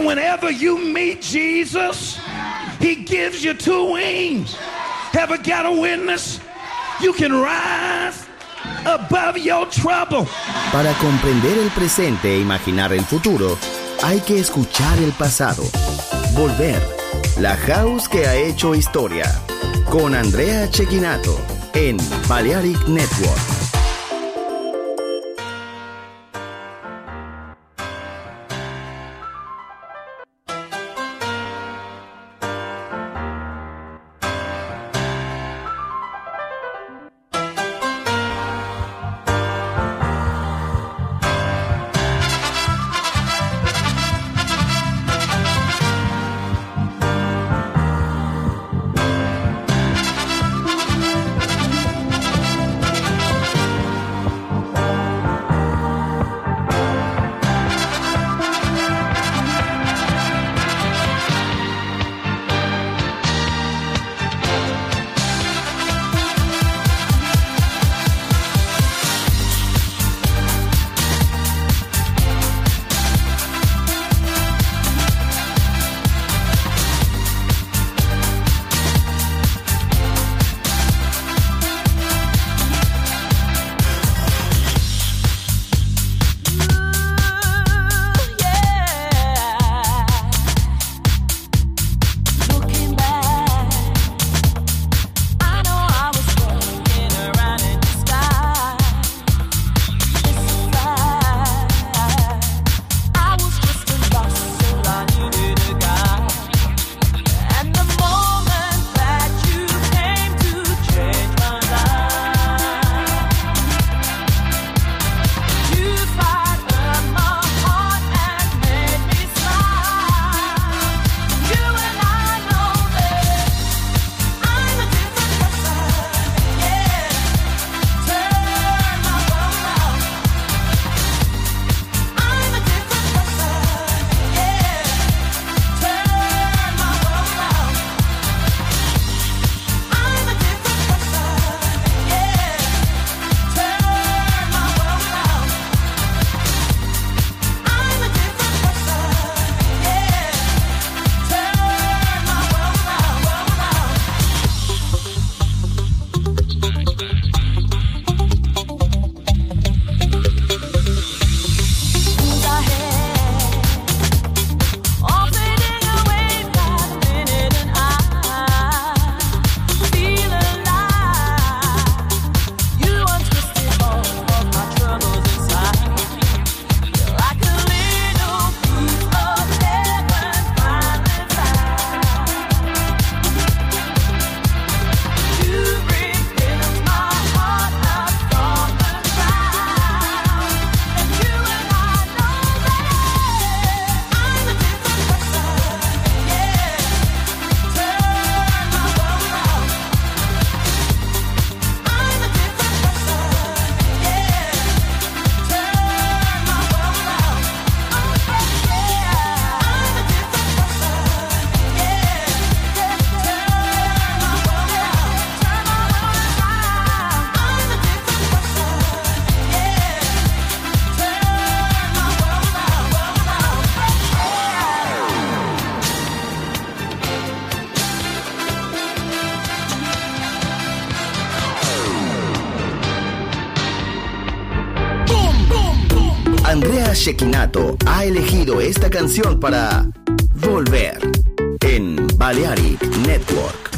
whenever you meet Jesus, he gives you two wings. Ever got a witness? You can rise above your trouble. Para comprender el presente e imaginar el futuro, hay que escuchar el pasado. Volver. La house que ha hecho historia. Con Andrea Cecchinato en Balearic Network. Andrea Cecchinato ha elegido esta canción para Volver en Balearic Network.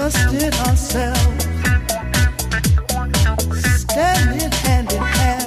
trusted ourselves, standing hand in hand.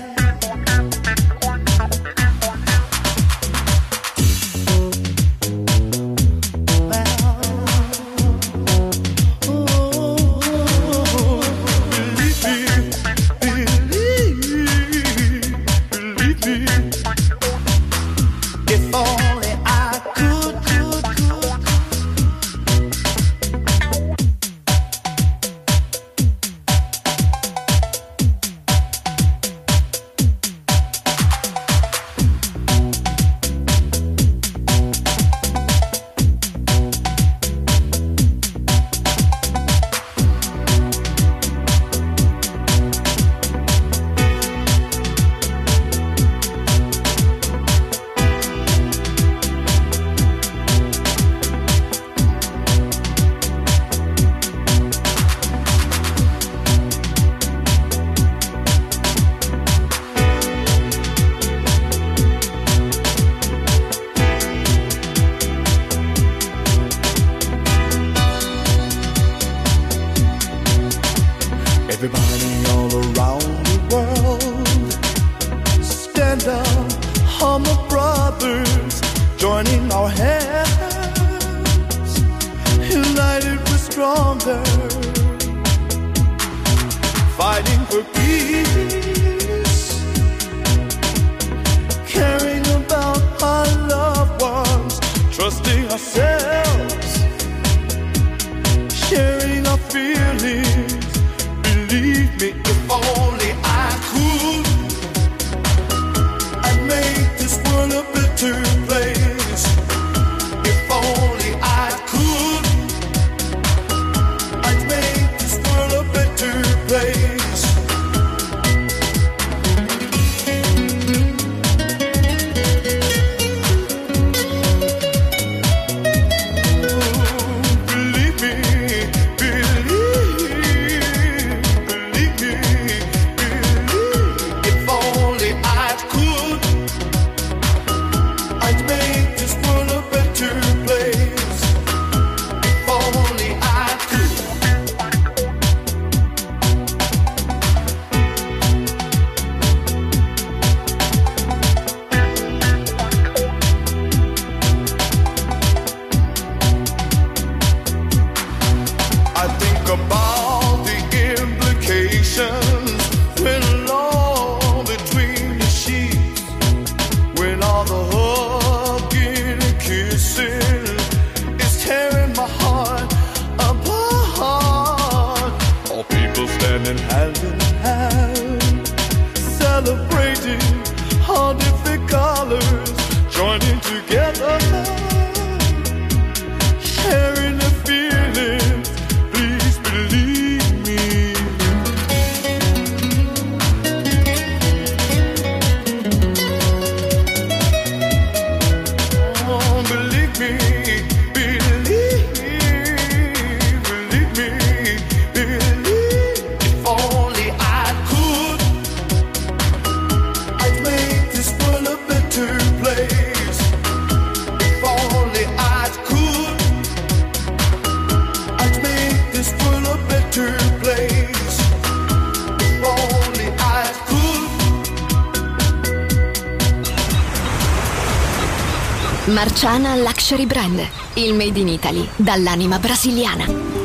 Marciana Luxury Brand, il made in Italy dall'anima brasiliana.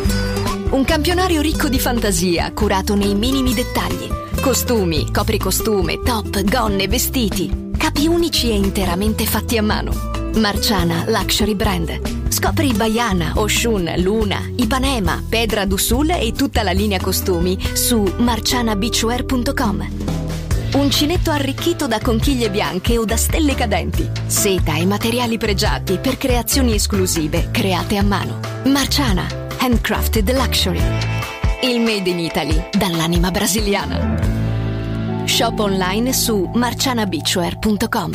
Un campionario ricco di fantasia, curato nei minimi dettagli. Costumi, copricostume, top, gonne, vestiti. Capi unici e interamente fatti a mano. Marciana Luxury Brand. Scopri Baiana, Oshun, Luna, Ipanema, Pedra do Sul e tutta la linea costumi su marcianabeachwear.com. Uncinetto arricchito da conchiglie bianche o da stelle cadenti. Seta e materiali pregiati per creazioni esclusive create a mano. Marciana, handcrafted luxury. Il made in Italy dall'anima brasiliana. Shop online su marcianabeachwear.com.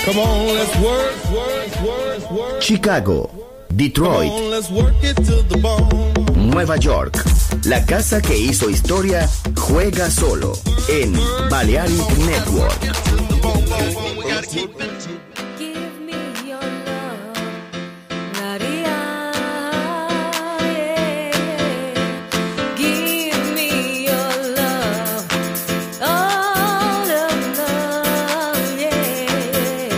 Come on, let's work. Chicago, Detroit, Come on, let's work it to the bone. Nueva York. La casa que hizo historia juega solo en Balearic Network. Give me your love, Maria. Yeah. Give me your love, all of love, yeah.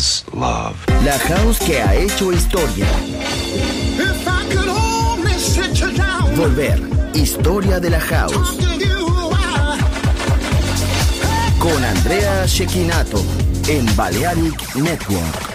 is love. La house que ha hecho historia. If I could only sit you down, Volver. Historia de la house. talk to you, Con Andrea Cecchinato en Balearic Network.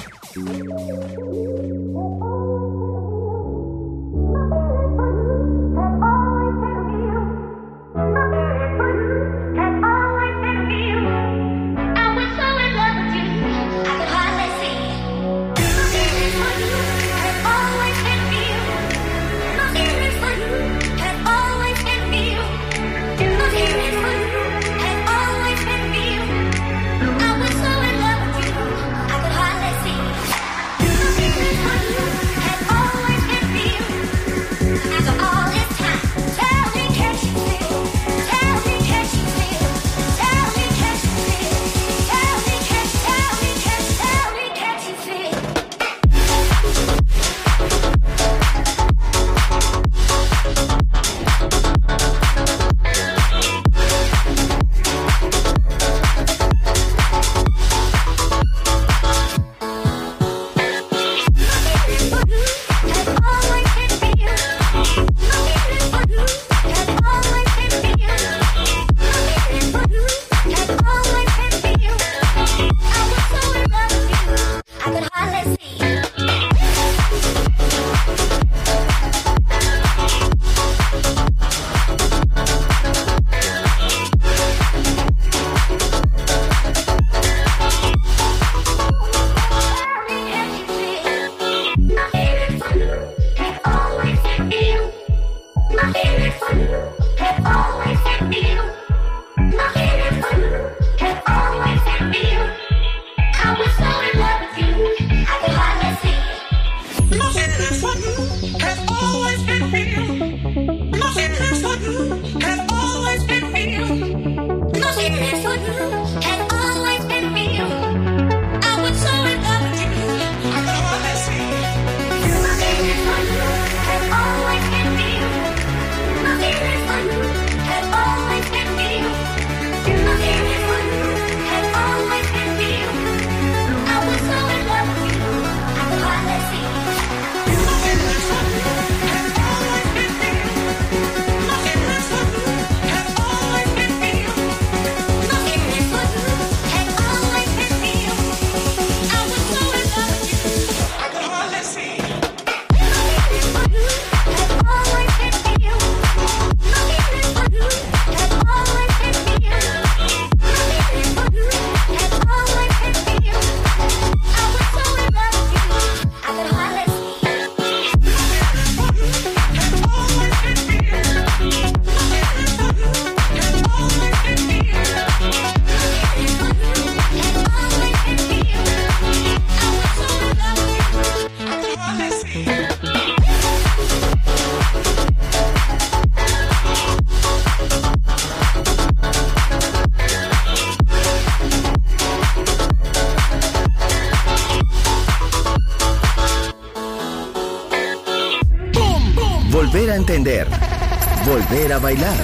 Volver a entender. Volver a bailar.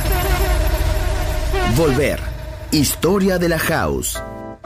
Volver. Historia de la house.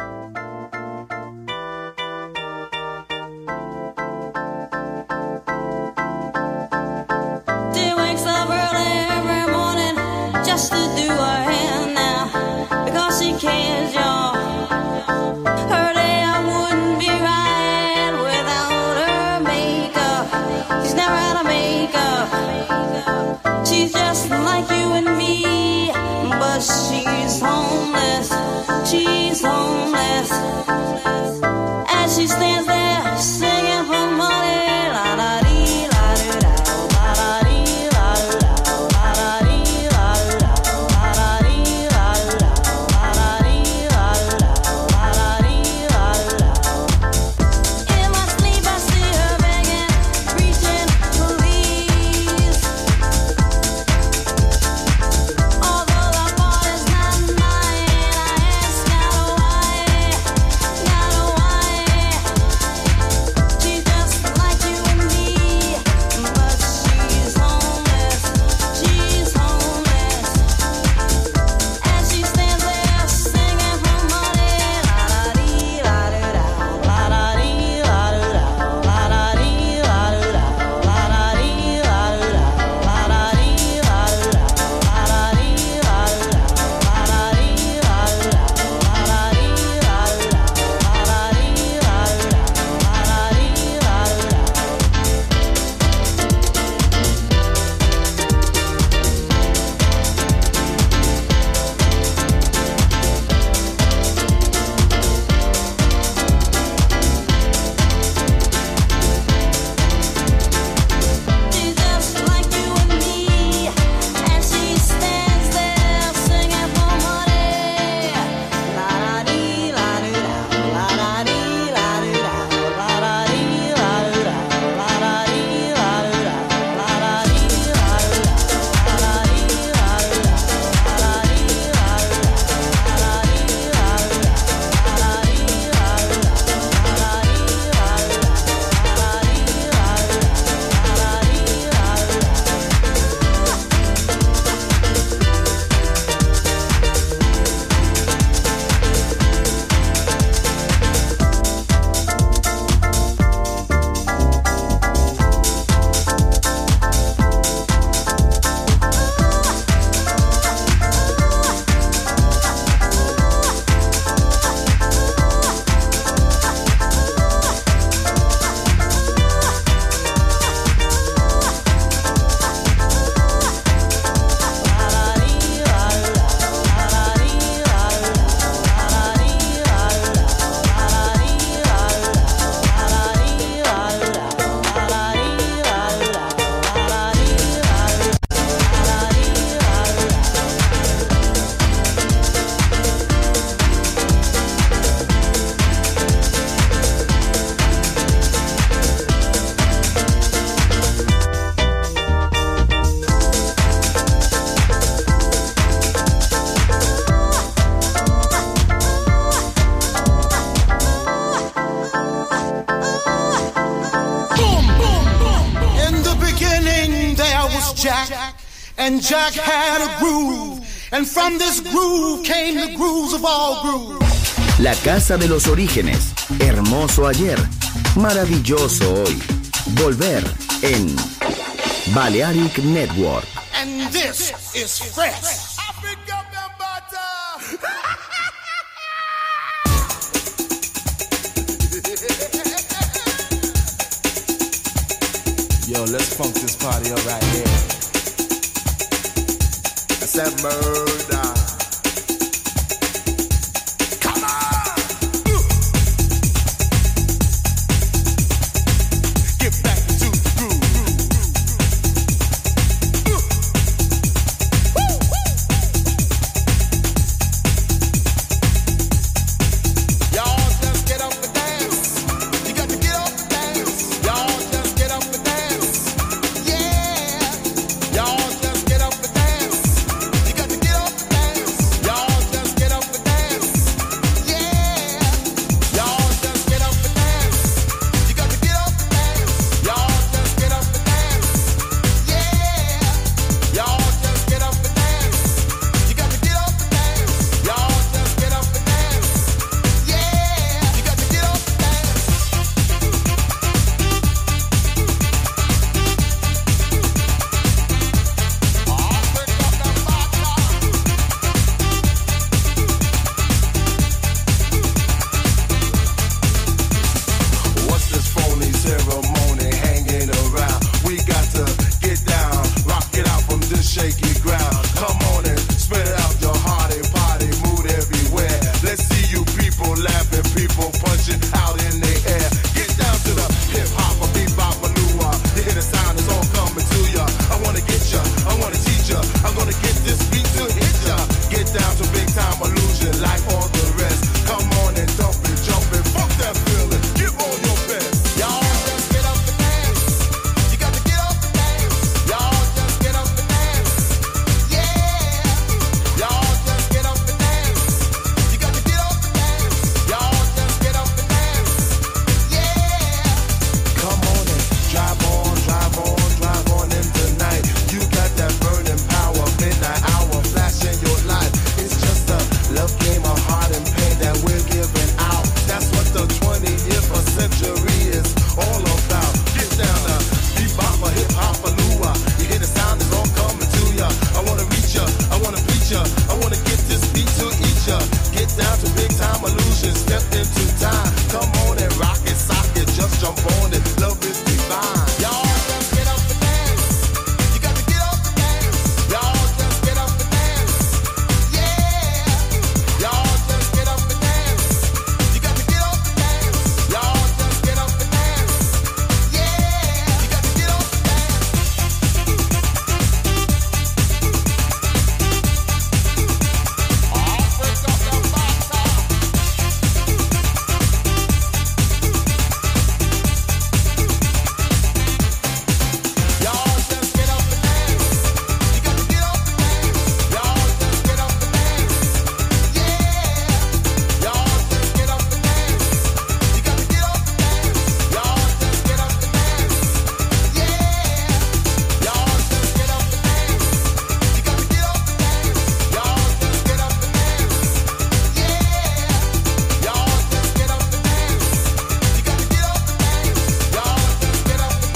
She wakes up early every morning just to do her hair now because she cares, y'all. Her day I wouldn't be right without her makeup. She's never had a makeup. She's just like you and me, but she's homeless. She's homeless. As she stands there singing for money, la la dee la doo da, la la dee la doo da, la la dee la doo da, la la dee la doo da, la la dee la doo da, la la dee la doo da. In my sleep I see her begging, reaching please. Although the fault is not mine, I ask God why, God why. Jack, and Jack had a groove, and from this groove came the grooves of all grooves. La casa de los orígenes, hermoso ayer, maravilloso hoy. Volver en Balearic Network. And this is fresh. Yo, let's funk this party up right here. That's that murder. Come on! Get back to the groove. Y'all just get up and dance. You got to get up and dance. Y'all just get up and dance. Y'all just get up and dance. You got to get up and dance. Y'all just get up and dance. Y'all just get up and dance. You got to get up and dance. Y'all just get up and dance. Y'all just get up and dance. You got to get up and dance. Y'all just get up and dance. You got to get up and dance. What's this phony ceremony hanging around? We got to get down, rock it out from this shaky ground. Come on and spread it out your hearty party mood everywhere. Let's see you people laughing, people punching out in the air. Get down to the hip hop, a bebop, a lua. You hear the sound, it's all coming to ya. I wanna get ya, I wanna teach ya. I'm gonna get this beat to hit ya. Get down to big time illusion like all the rest. Come on and dump it, jump it, fuck that feeling. Give all your best. Y'all just get up and dance. You got to get up and dance. Y'all just get up and dance. Y'all just get up and dance. You got to get up and dance. Y'all just get up and dance. Come on and drive on, drive on, drive on in the night. You got that burning power, midnight hour, flashing your light. It's just a love game of heart and pain that we're giving out. That's what the 20th century is all about. Get down to bebop, a hip hop, a lua. You hear the sound, it's all coming to ya. I wanna reach ya, I wanna preach ya. I wanna get this beat to eat ya. Get down to big time illusion, step into time. Come on and rock it, sock it, just jump on it. Love is divine. Y'all just get up and dance. You got to get up and dance. Y'all just get up and dance. Y'all just get up and dance. You got to get up and dance. Y'all just get up and dance. You got to get up and dance. Y'all just get up and dance. You got to get up and dance. Y'all just get up and dance. Y'all just get up and dance. You got to get up and dance. Y'all just get up and dance. Y'all just get up and dance. You got to get up and dance. Y'all just get up and dance. Y'all just get up and dance. You got to get up and dance. Y'all just get up and dance.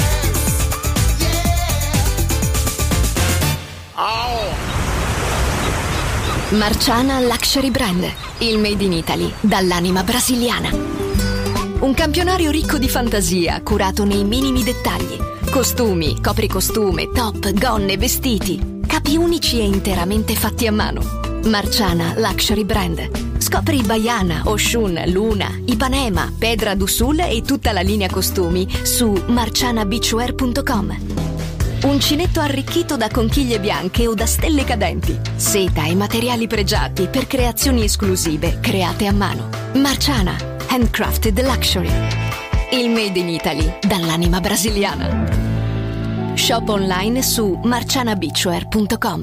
Marciana Luxury Brand, il made in Italy dall'anima brasiliana. Un campionario ricco di fantasia, curato nei minimi dettagli. Costumi, copricostume, top, gonne, vestiti. Capi unici e interamente fatti a mano. Marciana Luxury Brand. Scopri Baiana, Oshun, Luna, Ipanema, Pedra do Sul e tutta la linea costumi su marcianabeachwear.com. Uncinetto arricchito da conchiglie bianche o da stelle cadenti. Seta e materiali pregiati per creazioni esclusive create a mano. Marciana, handcrafted luxury. Il made in Italy dall'anima brasiliana. Shop online su marcianabeachwear.com.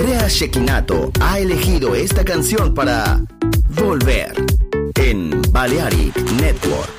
Andrea Cecchinato ha elegido esta canción para volver en Balearic Network.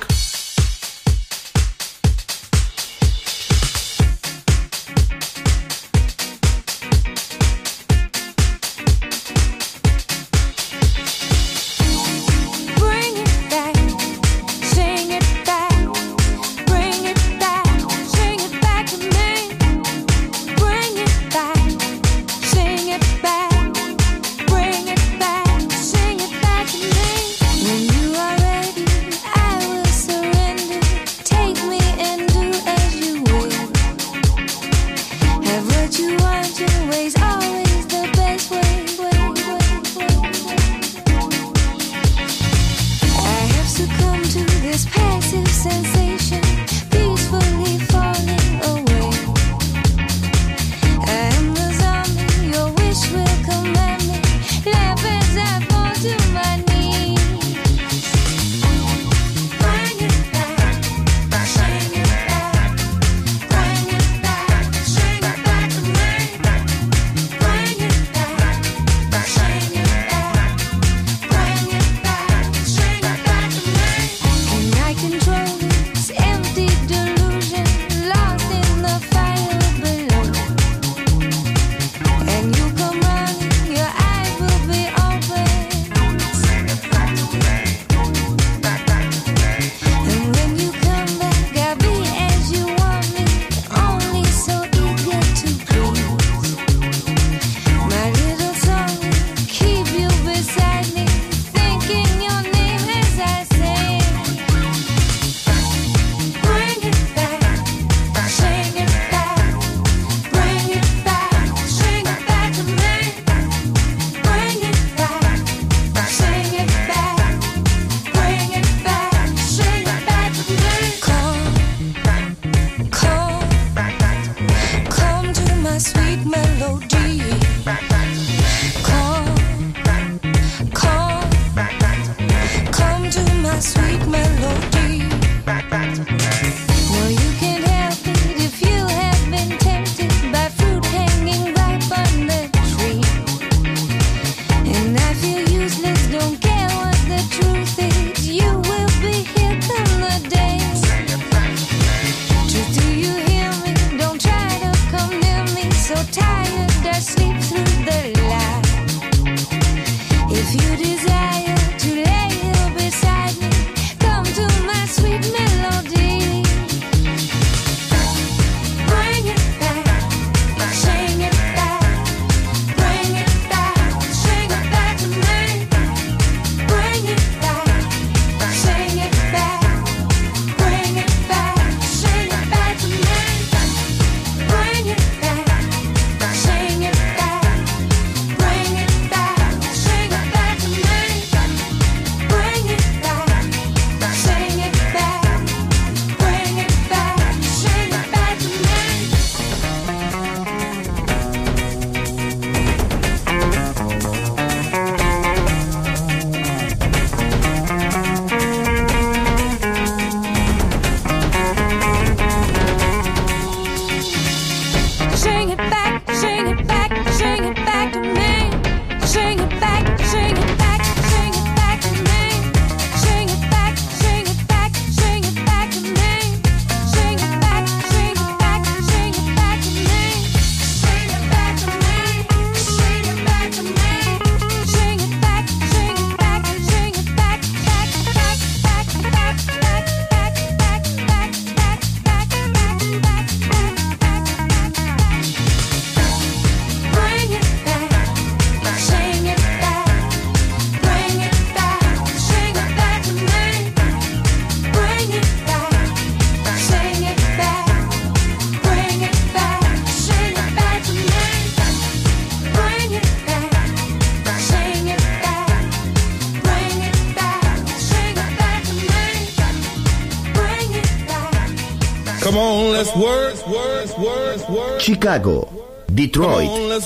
Chicago, Detroit,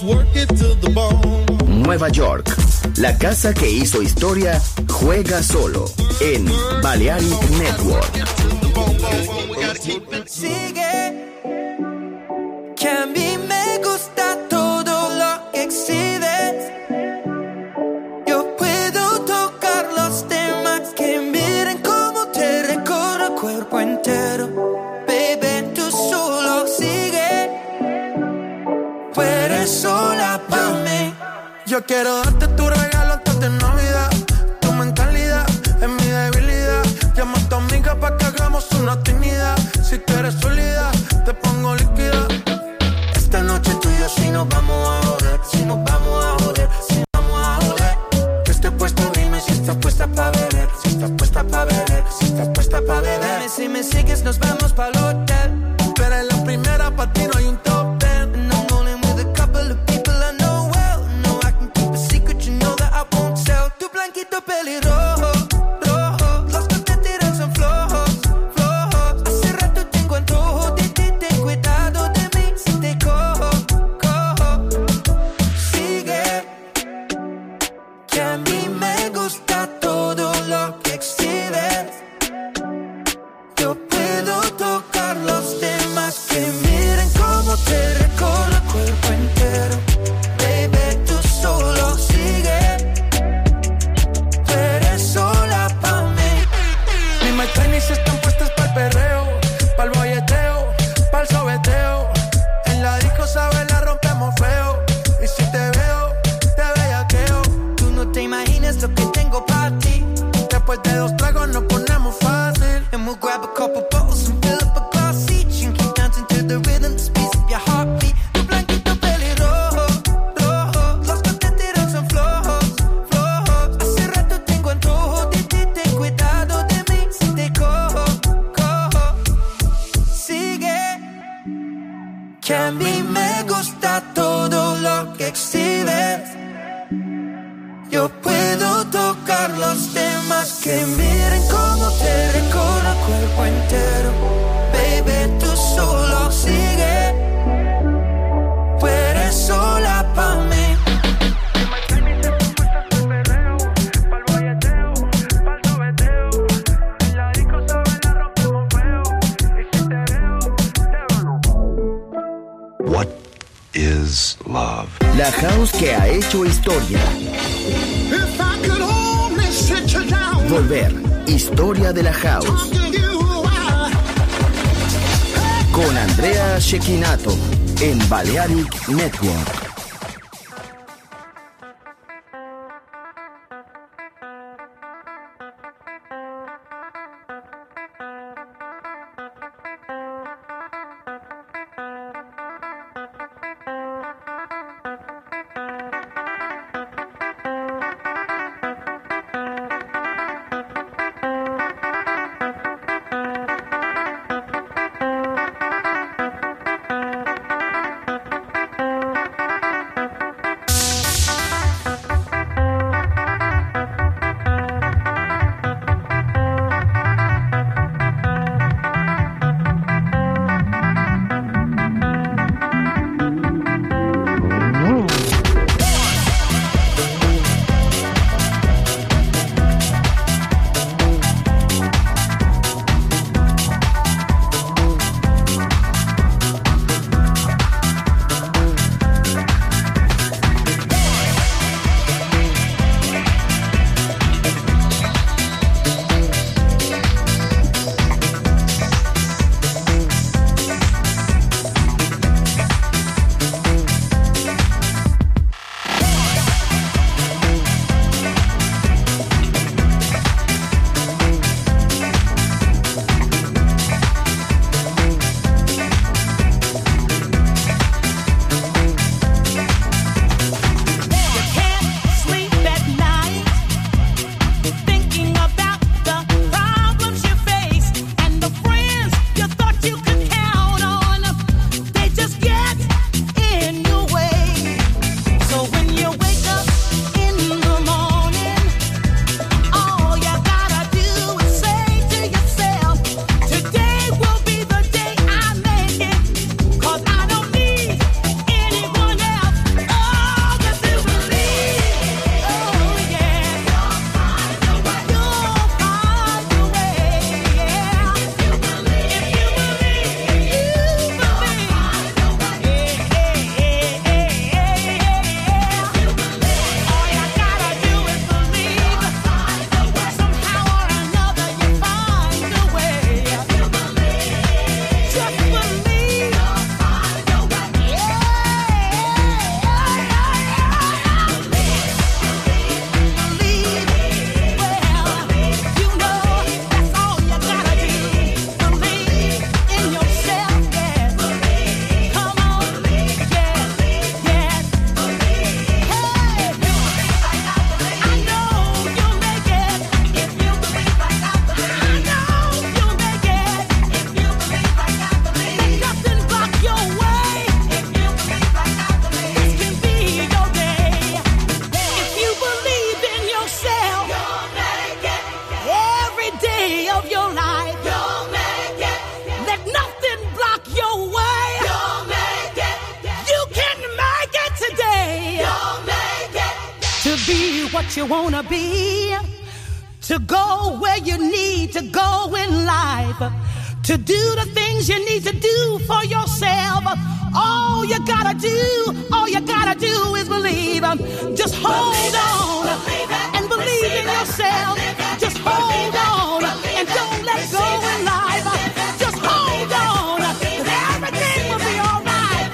Nueva York. La casa que hizo historia juega solo en Balearic Network. Sigue, que a mí me gusta todo lo que exhibe. Yo quiero darte tu regalo antes de Navidad. Tu mentalidad es mi debilidad. Llama a tu amiga pa' que hagamos una trinidad. Si tú eres sólida, te pongo líquida. Esta noche tú y yo sí nos vamos a joder. Si nos vamos a joder, si nos vamos a joder. Que esté puesto, dime si estás puesta pa' beber. Si estás puesta pa' beber, si estás puesta pa' beber. Dime si me sigues, nos vamos pa'l hotel. Tú eres la primera, pa' ti no hay un top ten. And I'm rolling with a couple of people I know well. No, I can keep a secret, you know that I won't tell. Tu blanquito pelirrojo, rojo. Los que te tiran son flojos, flojos. Hace rato tengo antojo de ti, ten cuidado de mí si te cojo, cojo. Sigue, que a mí me gusta todo lo que exhibes. Yo puedo tocar los demás que miren cómo te recorro el cuerpo entero. Baby, tú solo sigue. Tú eres sola pa' mí. Mis my tenis están puestas pa'l perreo, pa'l bolleteo, pa'l sobeteo. En la disco, sabes, la rompemos feo. Y si te veo, te bellaqueo. Tú no te imaginas lo que tengo pa' ti. Después de 2 tragos nos ponemos fácil. And we'll grab a couple bottles and fill up a glass each. And keep dancing to the rhythm, the speeds of your heartbeat. Tu blanquito pelirrojo, rojo. Los que te tiran son flojos, flojos. Hace rato tengo antojo de ti, ten cuidado de mí si te cojo, cojo. Sigue, que a mí me gusta todo lo que exhibes. Yo puedo tocar los temas que miren cómo te recorro el cuerpo entero. Baby, tú solo sigue. Tú eres sola pa' mí. What is love? La house que ha hecho historia. If I could only sit you down, Volver. Historia de la house. talking you out. Con Andrea Cecchinato en Balearic Network. to be what you wanna be, to go where you need to go in life, to do the things you need to do for yourself. All you gotta do is believe. Just hold on and believe in yourself. Just hold on and don't let go in life. Just hold on, 'cause everything will be all right.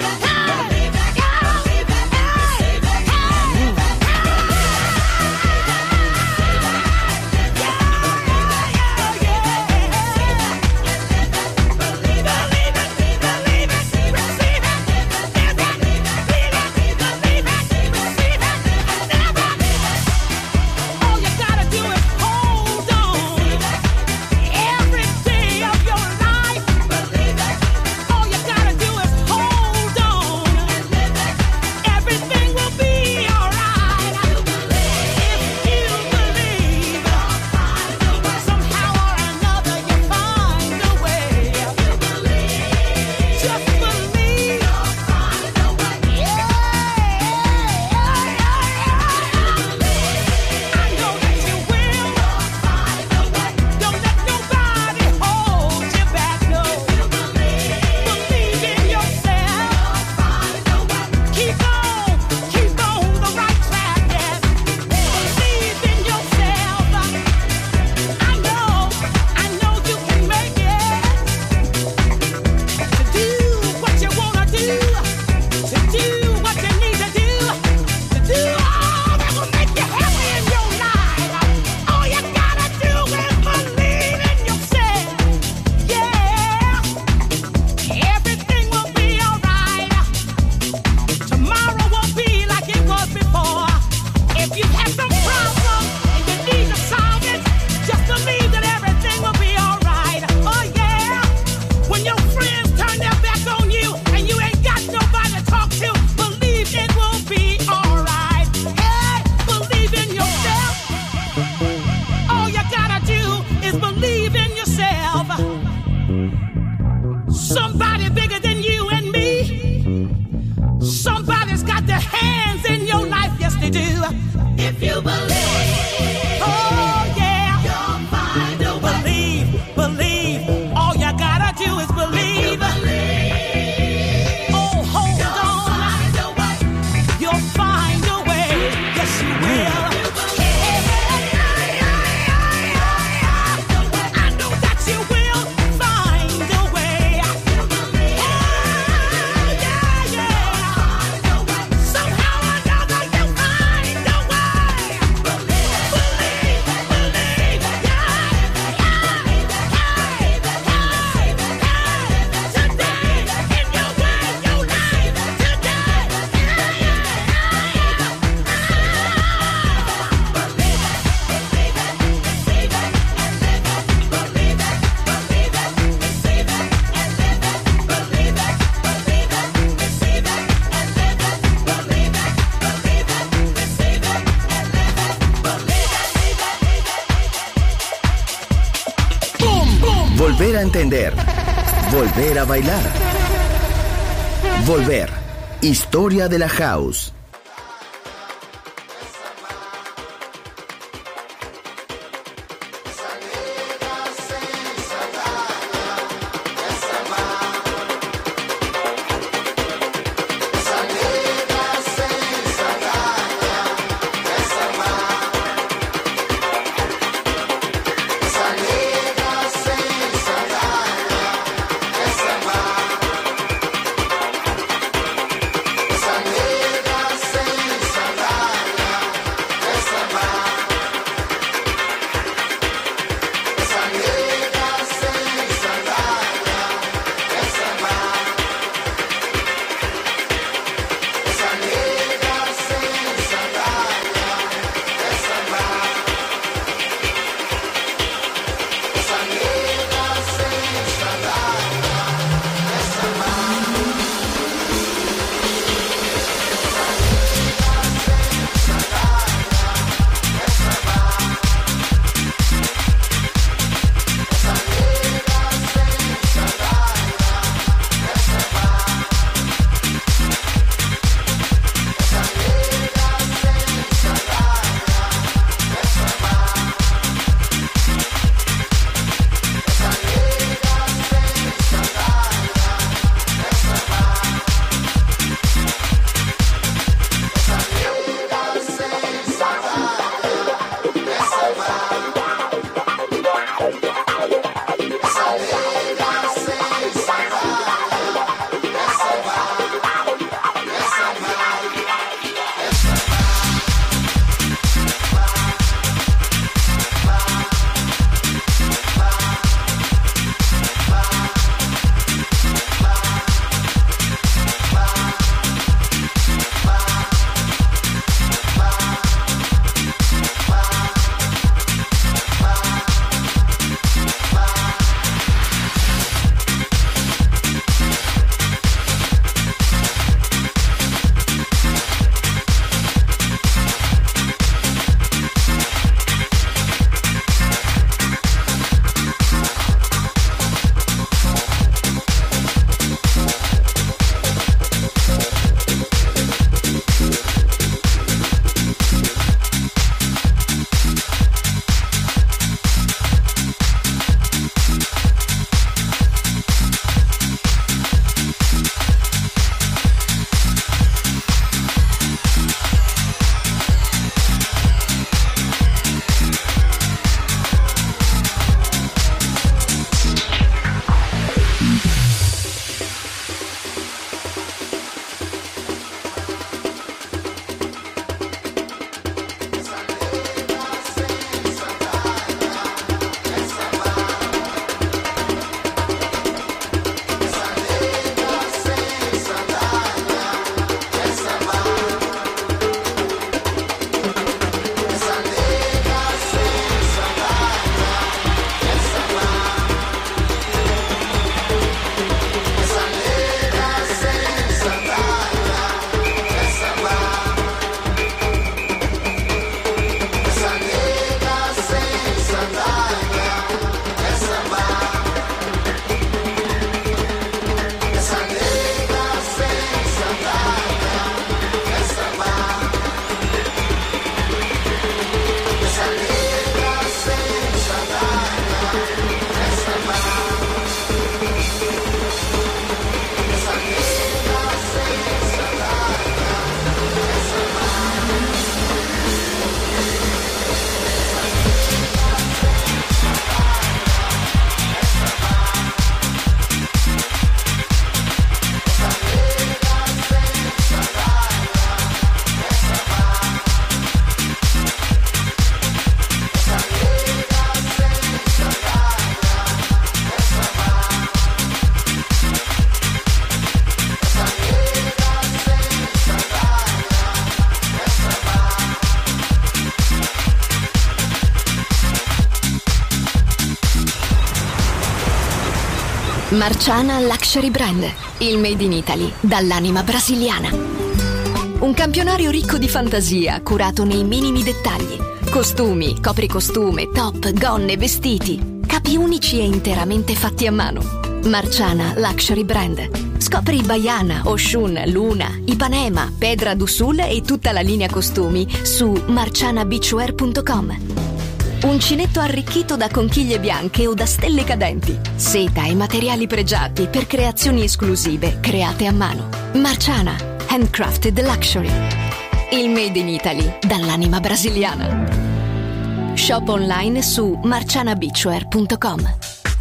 Somebody bigger than you and me. Somebody's got their hands in your life, yes they do. If you believe, oh yeah, you'll find a way. Believe, all you gotta do is believe. Oh, hold on, you'll find a way, yes you will. Volver a entender. Volver a bailar. Volver. Historia de la house. Marciana Luxury Brand, il made in Italy dall'anima brasiliana. Un campionario ricco di fantasia, curato nei minimi dettagli. Costumi, copricostume, top, gonne, vestiti. Capi unici e interamente fatti a mano. Marciana Luxury Brand. Scopri Baiana, Oshun, Luna, Ipanema, Pedra do Sul e tutta la linea costumi su marcianabeachwear.com. Uncinetto arricchito da conchiglie bianche o da stelle cadenti. Seta e materiali pregiati per creazioni esclusive create a mano. Marciana, handcrafted luxury. Il made in Italy dall'anima brasiliana. Shop online su marcianabeachwear.com.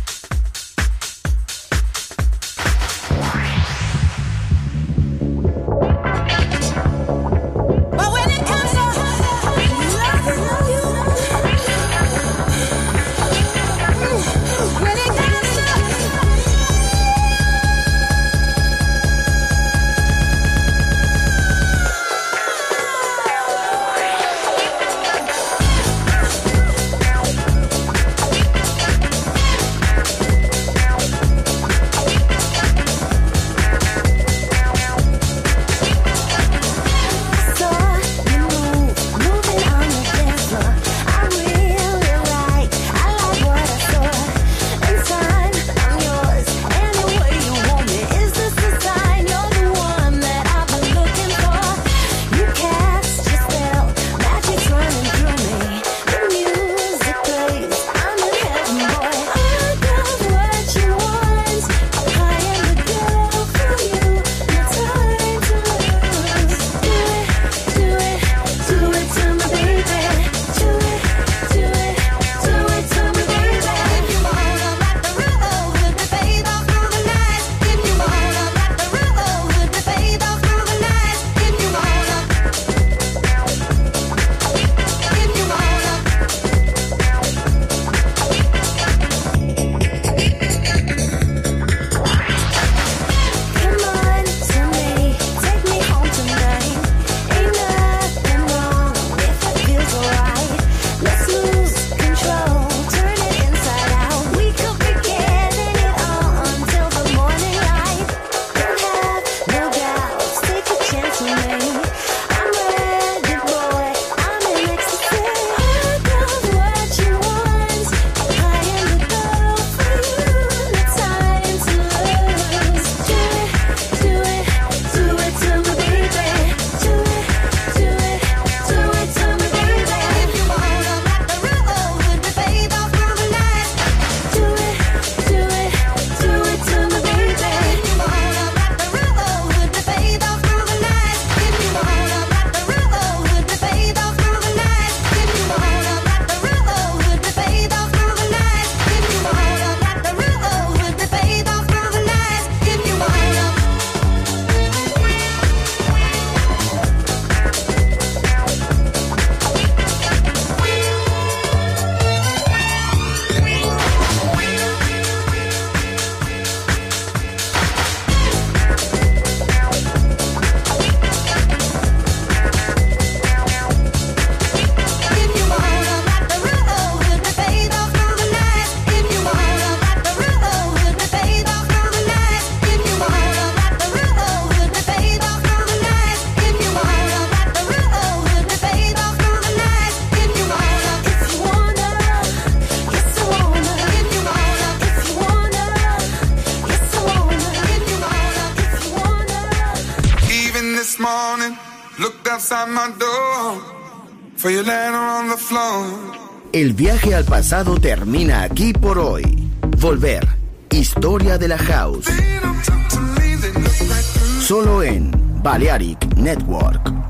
El viaje al pasado termina aquí por hoy. Volver. Historia de la House. Solo en Balearic Network.